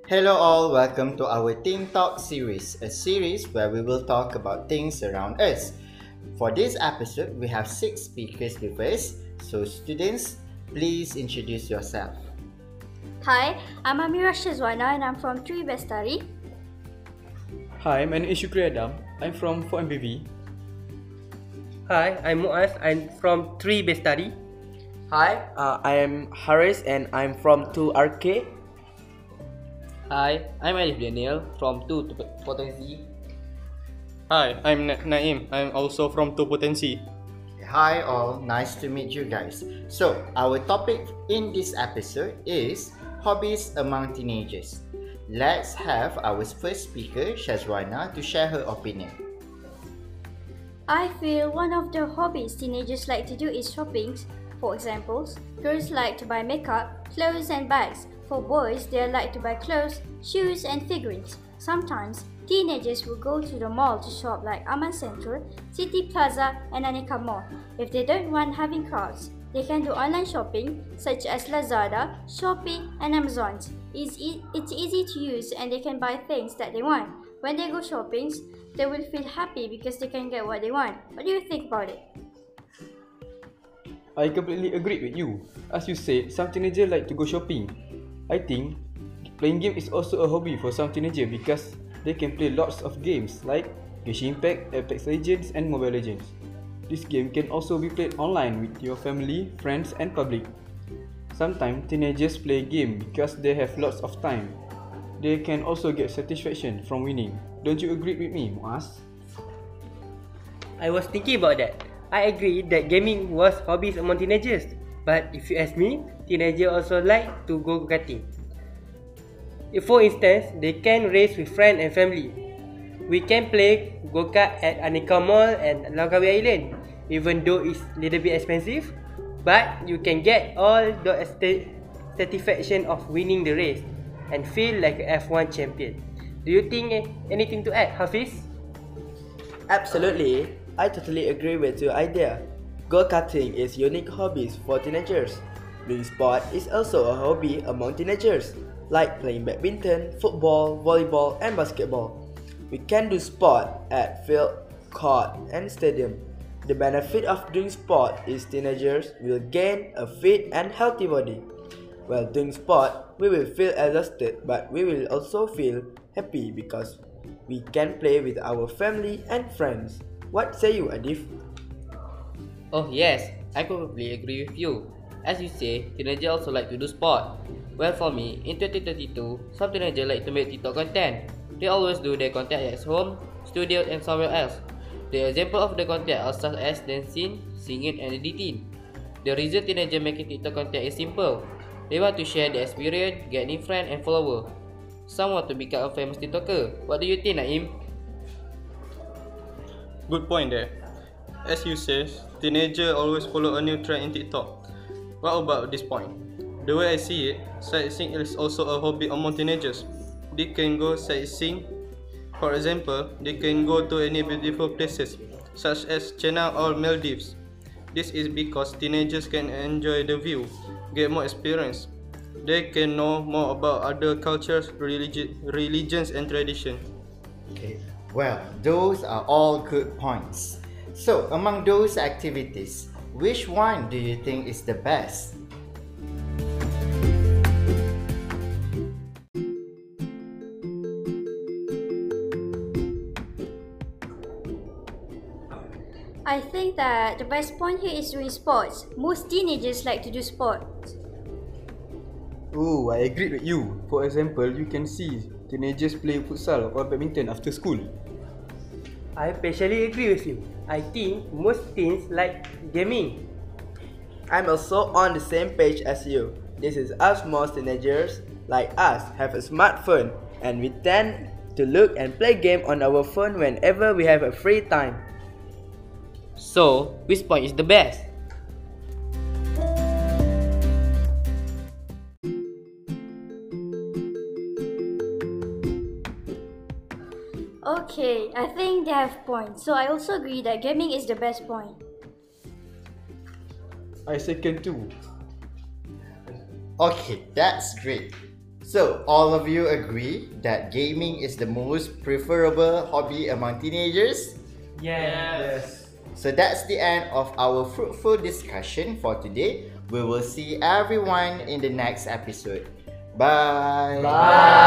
Hello, all, welcome to our Teen Talk series, a series where we will talk about things around us. For this episode, we have six speakers with us. So, students, please introduce yourself. Hi, I'm Amira Shazwana and I'm from Tri Bestari. Hi, my name is Shukri Adam. I'm from 4MBV. Hi, I'm Muaz. I'm from 3 Bestari. Hi, I am Haris and I'm from 2RK. Hi, I'm Alif Daniel from 2 Potensi. Hi, I'm Naim. I'm also from 2 Potensi. Hi, all, nice to meet you guys. So, our topic in this episode is hobbies among teenagers. Let's have our first speaker, Shazwana, to share her opinion. I feel one of the hobbies teenagers like to do is shopping. For example, girls like to buy makeup, clothes and bags. For boys, they like to buy clothes, shoes and figurines. Sometimes, teenagers will go to the mall to shop like Aman Central, City Plaza and Aneka Mall. If they don't want having crowds, they can do online shopping such as Lazada, Shopee and Amazon. It's easy to use and they can buy things that they want. When they go shopping, they will feel happy because they can get what they want. What do you think about it? I completely agree with you. As you said, some teenagers like to go shopping. I think playing game is also a hobby for some teenagers because they can play lots of games like Genshin Impact, Apex Legends and Mobile Legends. This game can also be played online with your family, friends and public. Sometimes teenagers play game because they have lots of time. They can also get satisfaction from winning. Don't you agree with me, Muaz? I was thinking about that. I agree that gaming was hobbies among teenagers. But if you ask me, teenagers also like to go karting. For instance, they can race with friends and family. We can play go-kart at Aneka Mall and Langkawi Island, even though it's a little bit expensive. But you can get all the satisfaction of winning the race and feel like a F1 champion. Do you think anything to add, Hafiz? Absolutely, I totally agree with your idea. Go-karting is unique hobbies for teenagers. Doing sport is also a hobby among teenagers, like playing badminton, football, volleyball, and basketball. We can do sport at field, court, and stadium. The benefit of doing sport is teenagers will gain a fit and healthy body. While doing sport, we will feel exhausted, but we will also feel happy because we can play with our family and friends. What say you, Adif? Oh yes, I completely agree with you. As you say, teenagers also like to do sport. Well, for me, in 2022, some teenagers like to make TikTok content. They always do their content at home, studio and somewhere else. The example of the content are such as dancing, singing and editing. The reason teenagers making TikTok content is simple. They want to share their experience, get new friends and followers. Some want to become a famous TikToker. What do you think, Naim? Good point there. As you say, teenagers always follow a new trend in TikTok. What about this point? The way I see it, sightseeing is also a hobby among teenagers. They can go sightseeing. For example, they can go to any beautiful places, such as China or Maldives. This is because teenagers can enjoy the view, get more experience. They can know more about other cultures, religions and traditions. Okay, well, those are all good points. So, among those activities, which one do you think is the best? I think that the best point here is doing sports. Most teenagers like to do sports. Oh, I agree with you. For example, you can see teenagers play futsal or badminton after school. I partially agree with you. I think most teens like gaming. I'm also on the same page as you. This is us most teenagers like us have a smartphone and we tend to look and play game on our phone whenever we have a free time. So, which point is the best? Okay, I think they have points. So I also agree that gaming is the best point. I second too. Okay, that's great. So, all of you agree that gaming is the most preferable hobby among teenagers? Yes. So that's the end of our fruitful discussion for today. We will see everyone in the next episode. Bye. Bye.